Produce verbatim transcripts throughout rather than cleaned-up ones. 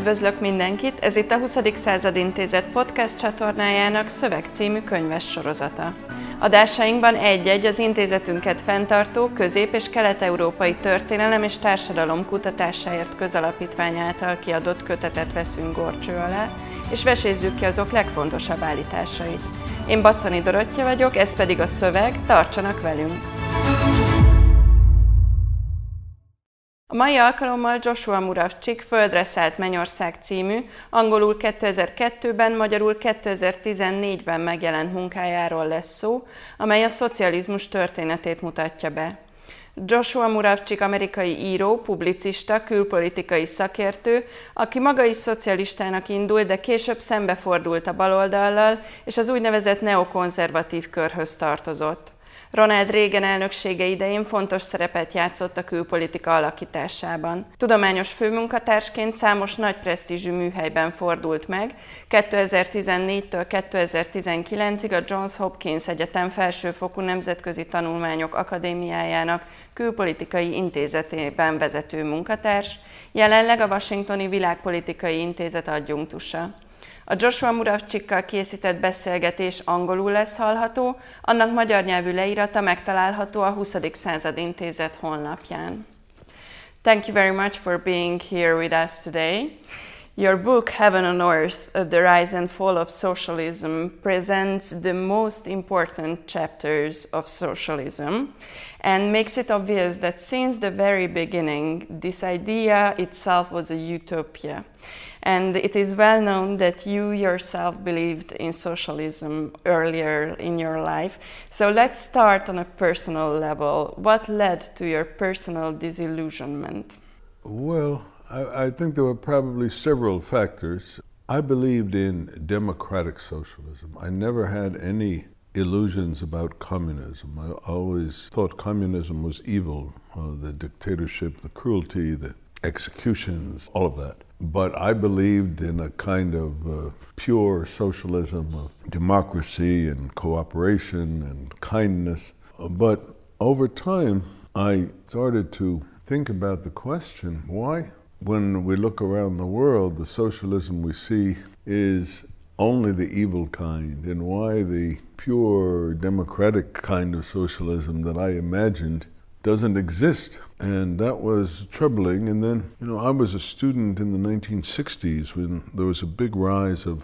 Üdvözlök mindenkit, ez itt a huszadik század intézet podcast csatornájának Szöveg című könyves sorozata. Adásainkban egy-egy az intézetünket fenntartó közép- és kelet-európai történelem és társadalom kutatásáért közalapítvány által kiadott kötetet veszünk górcső alá, és vesézzük ki azok legfontosabb állításait. Én Baczony Dorottya vagyok, ez pedig a Szöveg, tartsanak velünk! A mai alkalommal Joshua Muravcsik Földre szállt Mennyország című, angolul kétezer-kettőben, magyarul kétezer-tizennégyben megjelent munkájáról lesz szó, amely a szocializmus történetét mutatja be. Joshua Muravcsik amerikai író, publicista, külpolitikai szakértő, aki maga is szocialistának indult, de később szembefordult a baloldallal, és az úgynevezett neokonzervatív körhöz tartozott. Ronald Reagan elnöksége idején fontos szerepet játszott a külpolitika alakításában. Tudományos főmunkatársként számos nagy presztízsű műhelyben fordult meg, kétezer-tizennégytől kétezer-tizenkilencig a Johns Hopkins Egyetem Felsőfokú Nemzetközi Tanulmányok Akadémiájának külpolitikai intézetében vezető munkatárs, jelenleg a Washingtoni Világpolitikai Intézet adjunktusa. A Joshua Muravcsikkal készített beszélgetés angolul lesz hallható, annak magyar nyelvű leírata megtalálható a huszadik század intézet honlapján. Thank you very much for being here with us today. Your book, Heaven on Earth, The Rise and Fall of Socialism, presents the most important chapters of socialism and makes it obvious that since the very beginning, this idea itself was a utopia. And it is well known that you yourself believed in socialism earlier in your life. So let's start on a personal level. What led to your personal disillusionment? Well, I, I think there were probably several factors. I believed in democratic socialism. I never had any illusions about communism. I always thought communism was evil, uh, the dictatorship, the cruelty, the executions, all of that. But I believed in a kind of uh, pure socialism of democracy and cooperation and kindness. But over time, I started to think about the question, why, when we look around the world, the socialism we see is only the evil kind, and why the pure democratic kind of socialism that I imagined doesn't exist. And that was troubling. And then, you know, I was a student in the nineteen sixties when there was a big rise of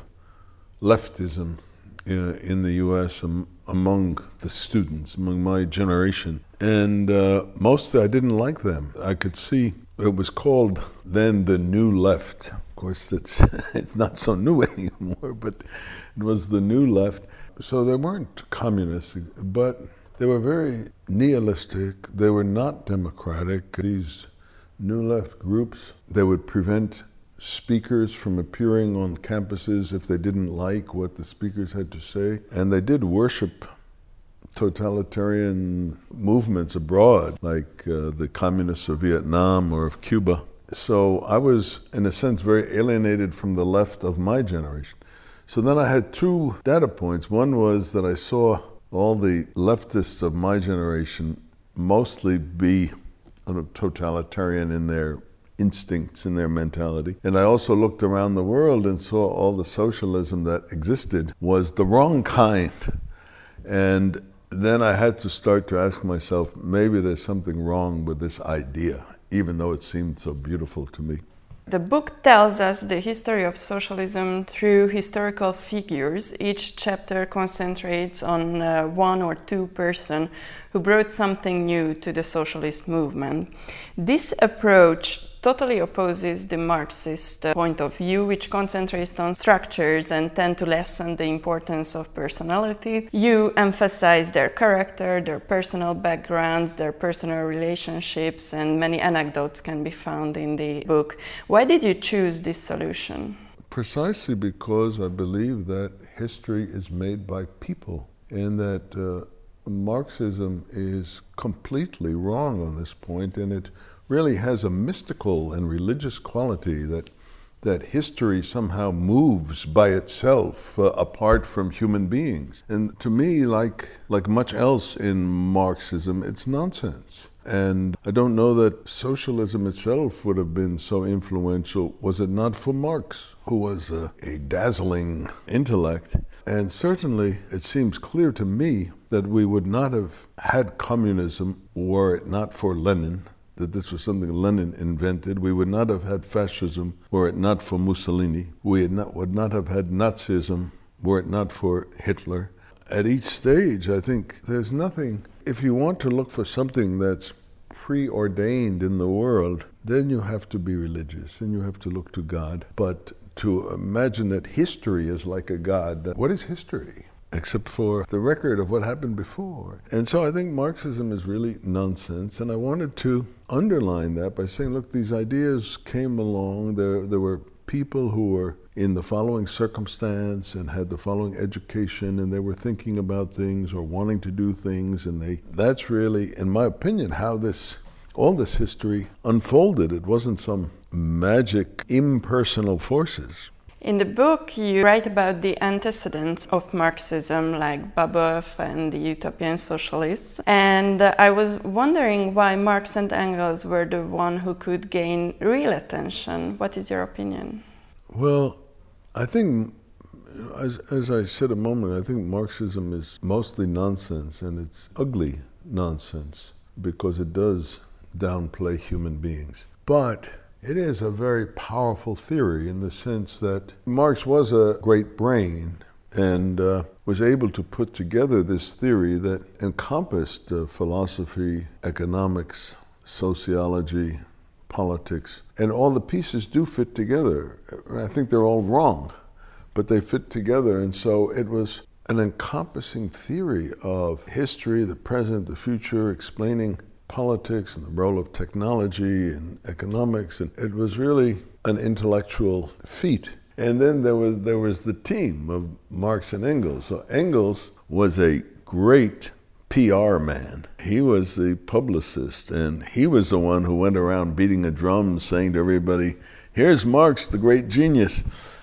leftism in, in the U S um, among the students, among my generation. And uh, mostly I didn't like them. I could see it was called then the New Left. Of course, it's, it's not so new anymore, but it was the New Left. So they weren't communists, but they were very nihilistic. They were not democratic. These New Left groups, they would prevent speakers from appearing on campuses if they didn't like what the speakers had to say. And they did worship totalitarian movements abroad, like uh, the communists of Vietnam or of Cuba. So I was, in a sense, very alienated from the left of my generation. So then I had two data points. One was that I saw all the leftists of my generation mostly be totalitarian in their instincts, in their mentality. And I also looked around the world and saw all the socialism that existed was the wrong kind. And then I had to start to ask myself, maybe there's something wrong with this idea, even though it seemed so beautiful to me. The book tells us the history of socialism through historical figures. Each chapter concentrates on uh, one or two persons who brought something new to the socialist movement. This approach totally opposes the Marxist uh, point of view, which concentrates on structures and tend to lessen the importance of personality. You emphasize their character, their personal backgrounds, their personal relationships, and many anecdotes can be found in the book. Why did you choose this solution? Precisely because I believe that history is made by people, and that uh, Marxism is completely wrong on this point, and it really has a mystical and religious quality that that history somehow moves by itself uh, apart from human beings. And to me, like like much else in Marxism, it's nonsense. And I don't know that socialism itself would have been so influential was it not for Marx, who was a, a dazzling intellect. And certainly it seems clear to me that we would not have had communism were it not for Lenin, that this was something Lenin invented. We would not have had fascism were it not for Mussolini. We had not, would not have had Nazism were it not for Hitler. At each stage, I think there's nothing. If you want to look for something that's preordained in the world, then you have to be religious and you have to look to God. But to imagine that history is like a God, that, what is history? Except for the record of what happened before. And so I think Marxism is really nonsense. And I wanted to underline that by saying, look, these ideas came along. There, there were people who were in the following circumstance and had the following education, and they were thinking about things or wanting to do things. And they that's really, in my opinion, how this all this history unfolded. It wasn't some magic, impersonal forces. In the book, you write about the antecedents of Marxism, like Babeuf and the utopian socialists. And uh, I was wondering why Marx and Engels were the one who could gain real attention. What is your opinion? Well, I think, as, as I said a moment, I think Marxism is mostly nonsense, and it's ugly nonsense, because it does downplay human beings. But it is a very powerful theory in the sense that Marx was a great brain and uh, was able to put together this theory that encompassed uh, philosophy, economics, sociology, politics, and all the pieces do fit together. I think they're all wrong, but they fit together, and so it was an encompassing theory of history, the present, the future, explaining politics and the role of technology and economics, and it was really an intellectual feat. And then there was there was the team of Marx and Engels. So Engels was a great P R man. He was the publicist, and he was the one who went around beating a drum saying to everybody, here's Marx, the great genius.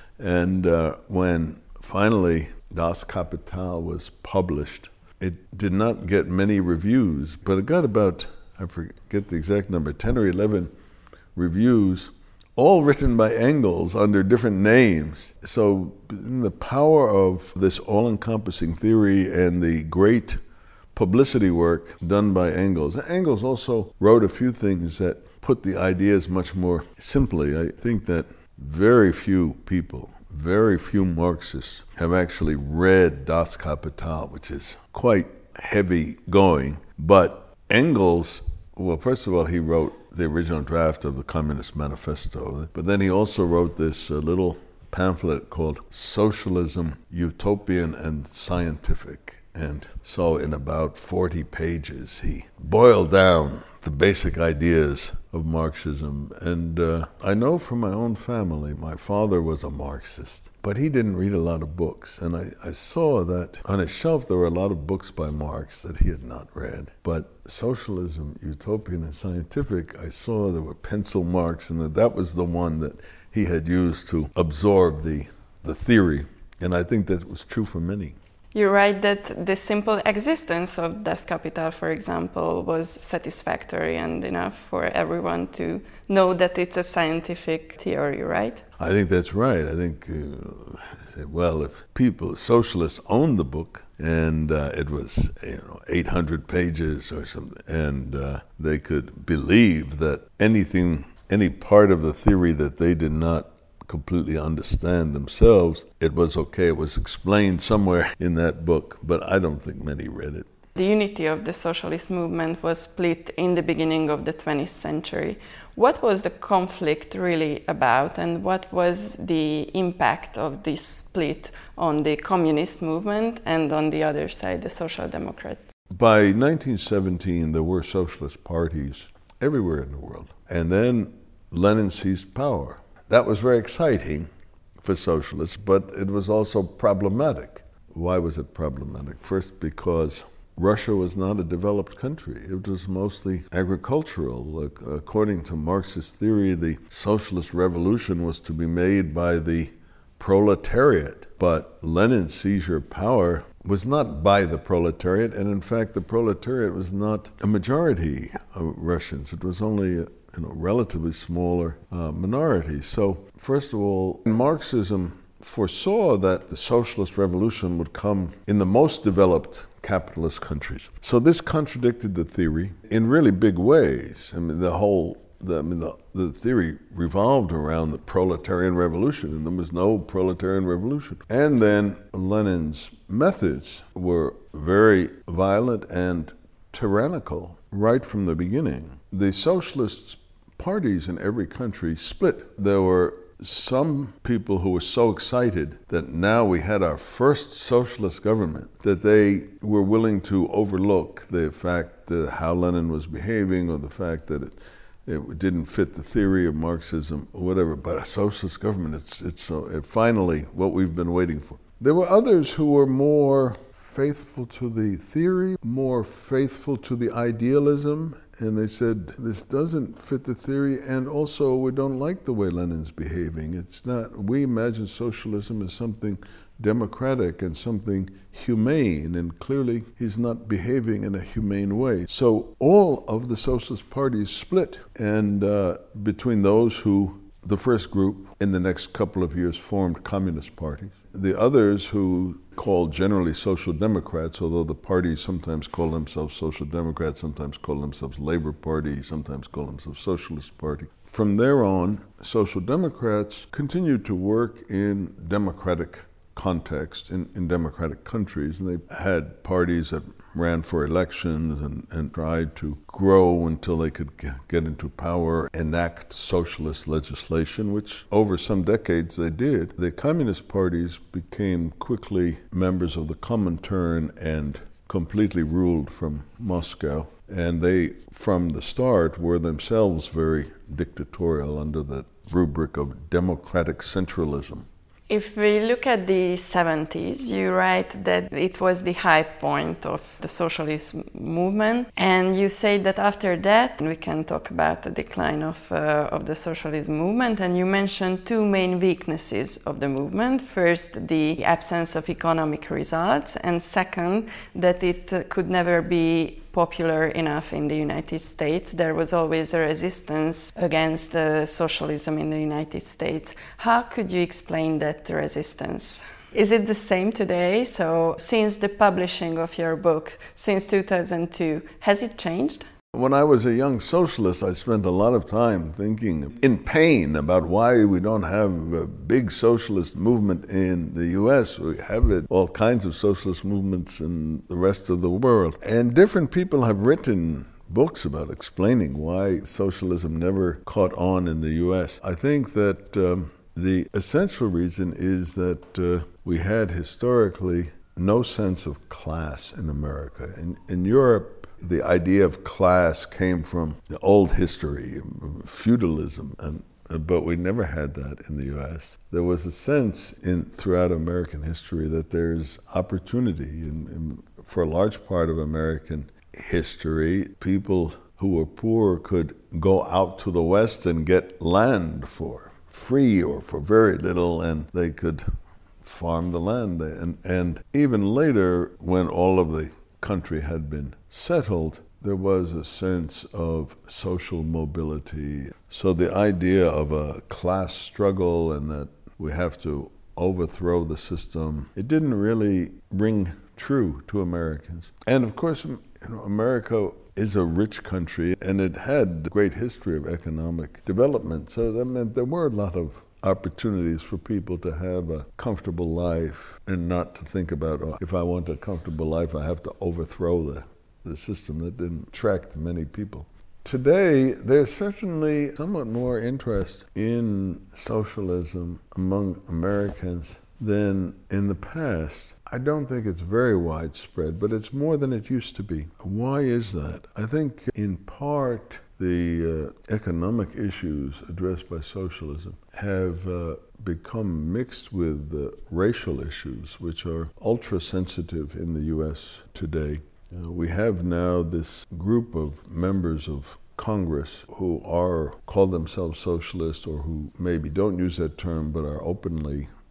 And uh, when finally Das Kapital was published, it did not get many reviews, but it got about, I forget the exact number, ten or eleven reviews, all written by Engels under different names. So the power of this all-encompassing theory and the great publicity work done by Engels. Engels also wrote a few things that put the ideas much more simply. I think that very few people, very few Marxists have actually read Das Kapital, which is quite heavy going. But Engels, well, first of all, he wrote the original draft of the Communist Manifesto, but then he also wrote this uh, little pamphlet called Socialism, Utopian and Scientific. And so in about forty pages, he boiled down the basic ideas of Marxism. And uh, I know from my own family, my father was a Marxist, but he didn't read a lot of books. And I, I saw that on his shelf there were a lot of books by Marx that he had not read. But Socialism, Utopian and Scientific, I saw there were pencil marks, and that, that was the one that he had used to absorb the, the theory. And I think that was true for many. You write that the simple existence of Das Kapital, for example, was satisfactory and enough for everyone to know that it's a scientific theory, right? I think that's right. I think, uh, well, if people, socialists owned the book, and uh, it was, you know, eight hundred pages or something, and uh, they could believe that anything, any part of the theory that they did not completely understand themselves, it was okay. It was explained somewhere in that book, but I don't think many read it. The unity of the socialist movement was split in the beginning of the twentieth century. What was the conflict really about, and what was the impact of this split on the communist movement and on the other side, the Social Democrats? By nineteen seventeen, there were socialist parties everywhere in the world, and then Lenin seized power. That was very exciting for socialists, but it was also problematic. Why was it problematic? First, because Russia was not a developed country. It was mostly agricultural. According to Marxist theory, the socialist revolution was to be made by the proletariat. But Lenin's seizure of power was not by the proletariat, and in fact the proletariat was not a majority of Russians. It was only a you know, relatively smaller uh, minority. So first of all, Marxism foresaw that the socialist revolution would come in the most developed capitalist countries. So this contradicted the theory in really big ways. I mean, the whole, the, I mean, the, the theory revolved around the proletarian revolution, and there was no proletarian revolution. And then Lenin's methods were very violent and tyrannical right from the beginning. The socialist parties in every country split. There were some people who were so excited that now we had our first socialist government that they were willing to overlook the fact that how Lenin was behaving or the fact that it, it didn't fit the theory of Marxism or whatever. But a socialist government, it's, it's uh, it finally what we've been waiting for. There were others who were more faithful to the theory, more faithful to the idealism, and they said, this doesn't fit the theory, and also we don't like the way Lenin's behaving. It's not, we imagine socialism as something democratic and something humane, and clearly he's not behaving in a humane way. So all of the socialist parties split, and uh, between those who, the first group in the next couple of years formed communist parties, the others who called generally social democrats, although the parties sometimes call themselves social democrats, sometimes call themselves Labor Party, sometimes call themselves Socialist Party. From there on, social democrats continued to work in democratic context, in, in democratic countries, and they had parties that ran for elections and, and tried to grow until they could get into power, enact socialist legislation, which over some decades they did. The communist parties became quickly members of the Comintern and completely ruled from Moscow. And they, from the start, were themselves very dictatorial under the rubric of democratic centralism. If we look at the seventies, you write that it was the high point of the socialist movement, and you say that after that we can talk about the decline of, uh, of the socialist movement, and you mentioned two main weaknesses of the movement. First, the absence of economic results, and second, that it uh, could never be popular enough in the United States. There was always a resistance against uh, socialism in the United States. How could you explain that resistance? Is it the same today? So since the publishing of your book, since two thousand two, has it changed? When I was a young socialist, I spent a lot of time thinking in pain about why we don't have a big socialist movement in the U S. We have it, all kinds of socialist movements in the rest of the world. And different people have written books about explaining why socialism never caught on in the U S. I think that um, the essential reason is that uh, we had historically no sense of class in America. In, in Europe, the idea of class came from the old history, feudalism, and but we never had that in the U S. There was a sense in throughout American history that there's opportunity in, in, for a large part of American history. People who were poor could go out to the West and get land for free or for very little, and they could farm the land. And, and even later, when all of the country had been settled, there was a sense of social mobility. So the idea of a class struggle and that we have to overthrow the system, it didn't really ring true to Americans. And of course, you know, America is a rich country, and it had a great history of economic development. So that meant there were a lot of opportunities for people to have a comfortable life and not to think about, oh, if I want a comfortable life, I have to overthrow the, the system. That didn't attract many people. Today, there's certainly somewhat more interest in socialism among Americans than in the past. I don't think it's very widespread, but it's more than it used to be. Why is that? I think in part the uh, economic issues addressed by socialism have uh, become mixed with uh, racial issues, which are ultra-sensitive in the U S today. Uh, we have now this group of members of Congress who are call themselves socialists, or who maybe don't use that term but are openly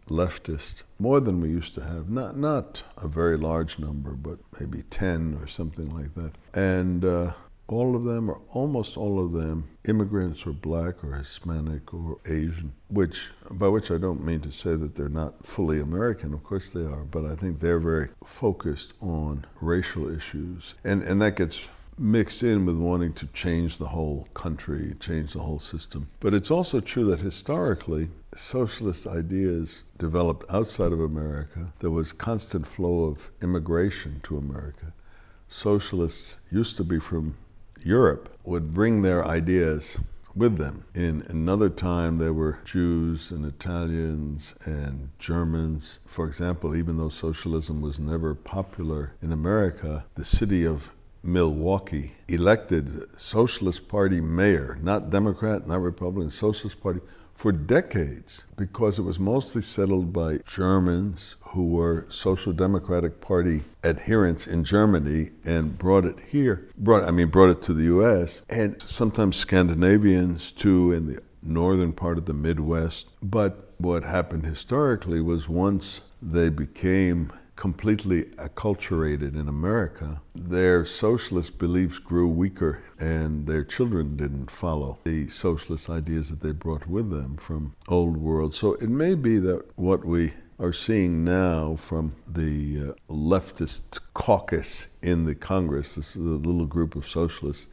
leftists, more than we used to have. Not not a very large number, but maybe ten or something like that. And uh, all of them, or almost all of them, immigrants or black or Hispanic or Asian, which, by which I don't mean to say that they're not fully American, of course they are, but I think they're very focused on racial issues. And, and that gets mixed in with wanting to change the whole country, change the whole system. But it's also true that historically, socialist ideas developed outside of America. There was constant flow of immigration to America. Socialists used to be from Europe, would bring their ideas with them. In another time, there were Jews and Italians and Germans. For example, even though socialism was never popular in America, the city of Milwaukee elected Socialist Party mayor, not Democrat, not Republican, Socialist Party, for decades, because it was mostly settled by Germans who were Social Democratic Party adherents in Germany and brought it here, brought I mean brought it to the U S, and sometimes Scandinavians too in the northern part of the Midwest. But what happened historically was once they became completely acculturated in America, their socialist beliefs grew weaker and their children didn't follow the socialist ideas that they brought with them from old world. So it may be that what we are seeing now from the uh, leftist caucus in the Congress, this is a little group of socialists,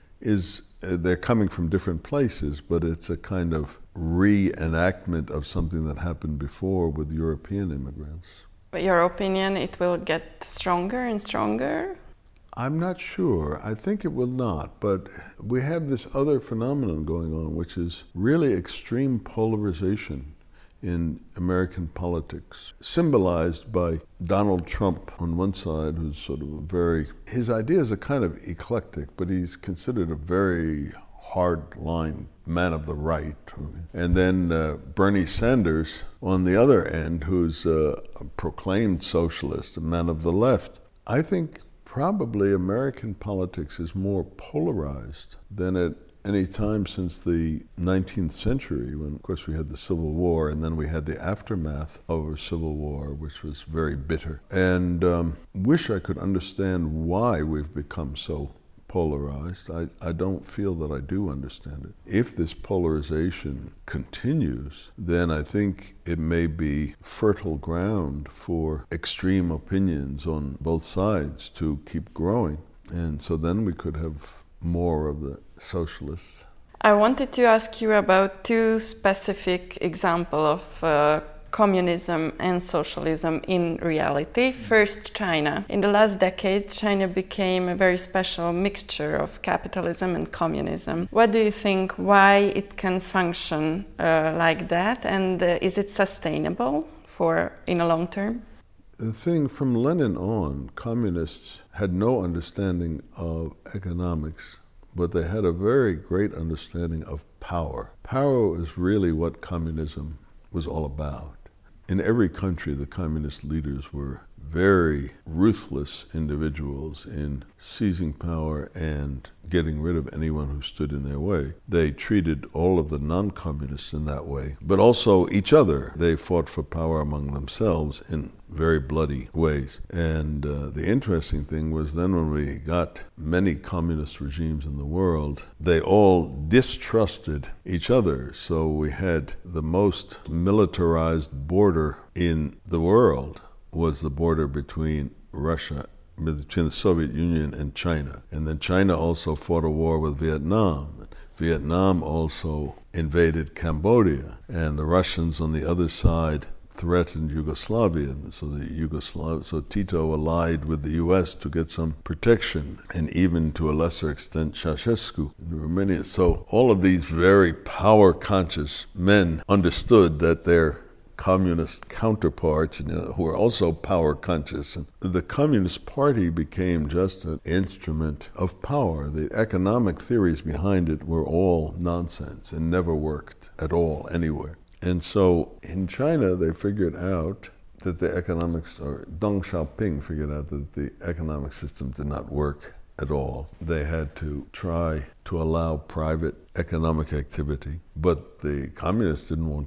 is uh, they're coming from different places, but it's a kind of reenactment of something that happened before with European immigrants. But your opinion, it will get stronger and stronger? I'm not sure. I think it will not. But we have this other phenomenon going on, which is really extreme polarization in American politics, symbolized by Donald Trump on one side, who's sort of a very, his ideas are kind of eclectic, but he's considered a very hard-line man of the right. And then uh, Bernie Sanders on the other end, who's uh, a proclaimed socialist, a man of the left. I think probably American politics is more polarized than at any time since the nineteenth century, when, of course, we had the Civil War, and then we had the aftermath of a Civil War, which was very bitter. And um, wish I could understand why we've become so polarized. I, I don't feel that I do understand it. If this polarization continues, then I think it may be fertile ground for extreme opinions on both sides to keep growing. And so then we could have more of the socialists. I wanted to ask you about two specific examples of uh, communism and socialism in reality. First, China. In the last decade, China became a very special mixture of capitalism and communism. What do you think, why it can function uh, like that, and uh, is it sustainable for in a long term? The thing, from Lenin on, communists had no understanding of economics, but they had a very great understanding of power. Power is really what communism was all about. In every country, the communist leaders were very ruthless individuals in seizing power and getting rid of anyone who stood in their way. They treated all of the non-communists in that way, but also each other. They fought for power among themselves in very bloody ways. And uh, the interesting thing was then when we got many communist regimes in the world, they all distrusted each other. So we had the most militarized border in the world was the border between Russia, between the Soviet Union and China. And then China also fought a war with Vietnam. Vietnam also invaded Cambodia. And the Russians on the other side threatened Yugoslavia. So the Yugoslav, so Tito allied with the U S to get some protection, and even to a lesser extent Ceausescu in Romania. So all of these very power-conscious men understood that their communist counterparts, you know, who were also power conscious. And the Communist Party became just an instrument of power. The economic theories behind it were all nonsense and never worked at all anywhere. And so in China, they figured out that the economics, or Deng Xiaoping figured out that the economic system did not work at all. They had to try to allow private economic activity, but the communists didn't want to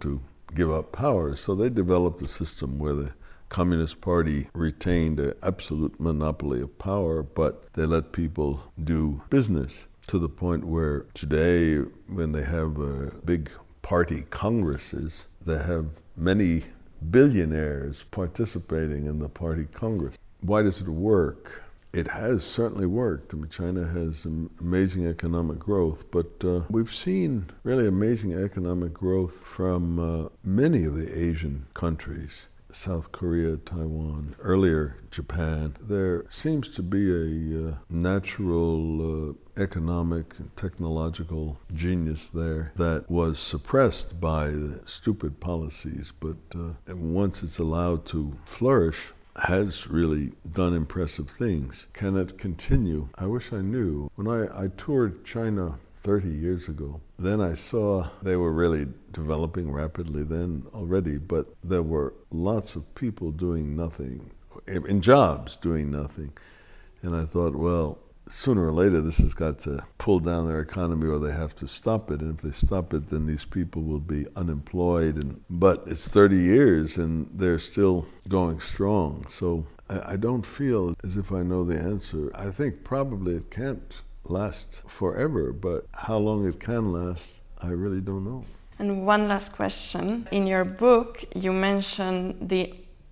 give up power. So they developed a system where the Communist Party retained an absolute monopoly of power, but they let people do business to the point where today, when they have uh, big party congresses, they have many billionaires participating in the party congress. Why does it work? It has certainly worked. I mean, China has amazing economic growth, but uh, we've seen really amazing economic growth from uh, many of the Asian countries. South Korea, Taiwan, earlier Japan. There seems to be a uh, natural uh, economic and technological genius there that was suppressed by the stupid policies, but uh, once it's allowed to flourish, has really done impressive things. Can it continue? I wish I knew. When I, I toured China thirty years ago, then I saw they were really developing rapidly then already, but there were lots of people doing nothing, in jobs doing nothing. And I thought, well, sooner or later this has got to pull down their economy or they have to stop it. And if they stop it, then these people will be unemployed. And but it's thirty years and they're still going strong. So I, I don't feel as if I know the answer. I think probably it can't last forever, but how long it can last, I really don't know. And one last question. In your book, you mention the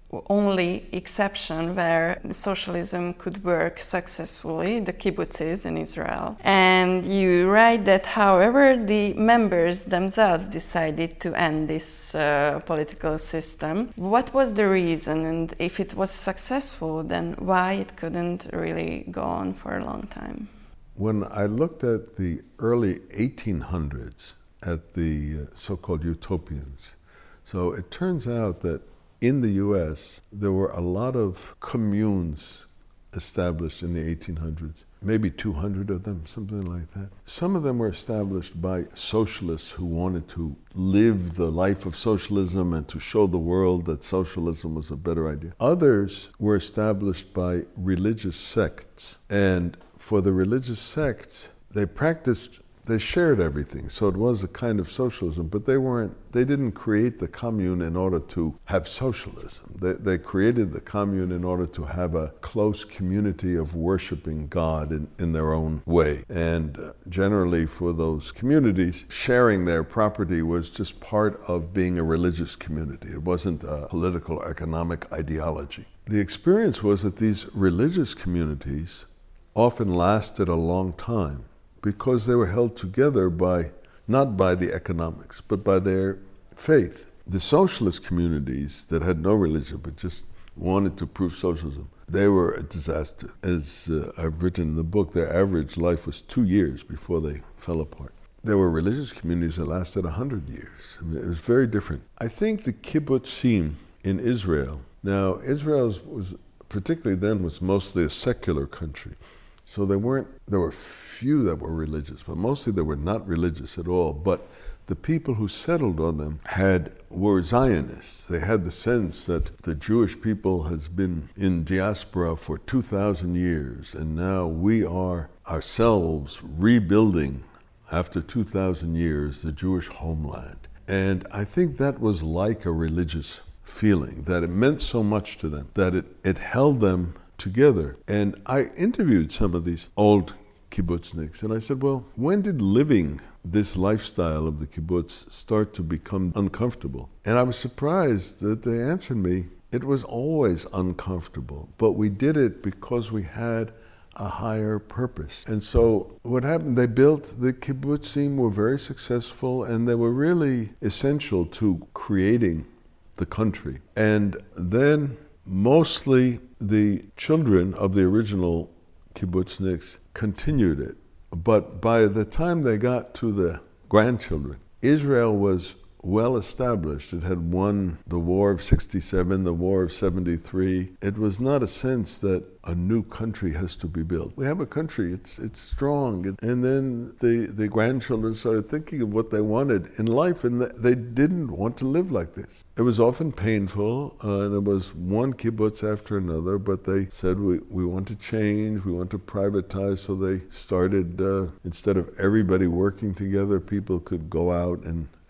only exception where socialism could work successfully, the kibbutzes in Israel. And you write that, however, the members themselves decided to end this uh, political system. What was the reason? And if it was successful, then why it couldn't really go on for a long time? When I looked at the early eighteen hundreds, at the so-called utopians, so it turns out that in the U S, there were a lot of communes established in the eighteen hundreds, maybe two hundred of them, something like that. Some of them were established by socialists who wanted to live the life of socialism and to show the world that socialism was a better idea. Others were established by religious sects, and for the religious sects, they practiced, they shared everything. So it was a kind of socialism, but they weren't, they didn't create the commune in order to have socialism. They, they created the commune in order to have a close community of worshiping God in, in their own way. And uh, generally for those communities, sharing their property was just part of being a religious community. It wasn't a political or economic ideology. The experience was that these religious communities often lasted a long time because they were held together by, not by the economics, but by their faith. The socialist communities that had no religion but just wanted to prove socialism, they were a disaster. As uh, I've written in the book, their average life was two years before they fell apart. There were religious communities that lasted a hundred years. I mean, it was very different. I think the kibbutzim in Israel, now Israel was, particularly then, was mostly a secular country. So there weren't, there were few that were religious, but mostly they were not religious at all. But the people who settled on them had, were Zionists. They had the sense that the Jewish people has been in diaspora for two thousand years, and now we are ourselves rebuilding, after two thousand years, the Jewish homeland. And I think that was like a religious feeling, that it meant so much to them, that it, it held them together. And I interviewed some of these old kibbutzniks, and I said, well, when did living this lifestyle of the kibbutz start to become uncomfortable? And I was surprised that they answered me, it was always uncomfortable, but we did it because we had a higher purpose. And so what happened, they built, the kibbutzim were very successful, and they were really essential to creating the country. And then mostly the children of the original kibbutzniks continued it. But by the time they got to the grandchildren, Israel was well established. It had won the War of sixty-seven, the War of seventy-three. It was not a sense that a new country has to be built. We have a country, it's it's strong. And then the, the grandchildren started thinking of what they wanted in life, and they didn't want to live like this. It was often painful, uh, and it was one kibbutz after another, but they said, we, we want to change, we want to privatize, so they started, uh, instead of everybody working together, people could go out and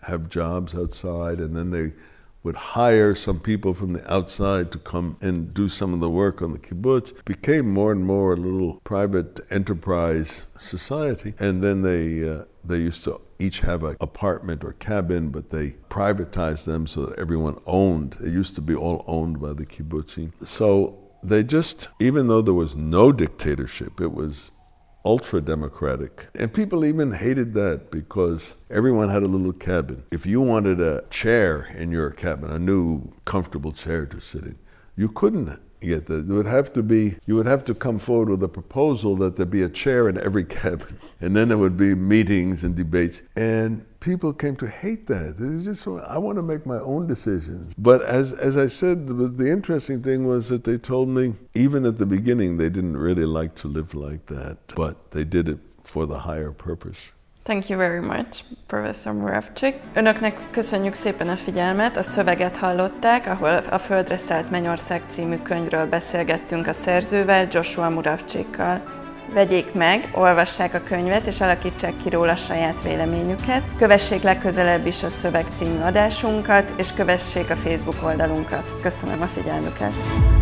have jobs outside, and then they would hire some people from the outside to come and do some of the work on the kibbutz. It became more and more a little private enterprise society, and then they uh, they used to each have an apartment or cabin, but they privatized them so that everyone owned. It used to be all owned by the kibbutzim. So they just, even though there was no dictatorship, it was ultra-democratic. And people even hated that because everyone had a little cabin. If you wanted a chair in your cabin, a new comfortable chair to sit in, you couldn't get that. It would have to be, you would have to come forward with a proposal that there be a chair in every cabin. And then there would be meetings and debates. And people came to hate that. It's just, I want to make my own decisions. But as as I said, the, the interesting thing was that they told me, even at the beginning, they didn't really like to live like that. But they did it for the higher purpose. Thank you very much, Professor Muravcsik. Önöknek köszönjük szépen a figyelmet, a szöveget hallották, ahol a Földre szállt Mennyország című könyvről beszélgettünk a szerzővel, Joshua Muravcsikkal. Vegyék meg, olvassák a könyvet és alakítsák ki róla saját véleményüket. Kövessék legközelebb is a Szöveg című adásunkat, és kövessék a Facebook oldalunkat. Köszönöm a figyelmüket!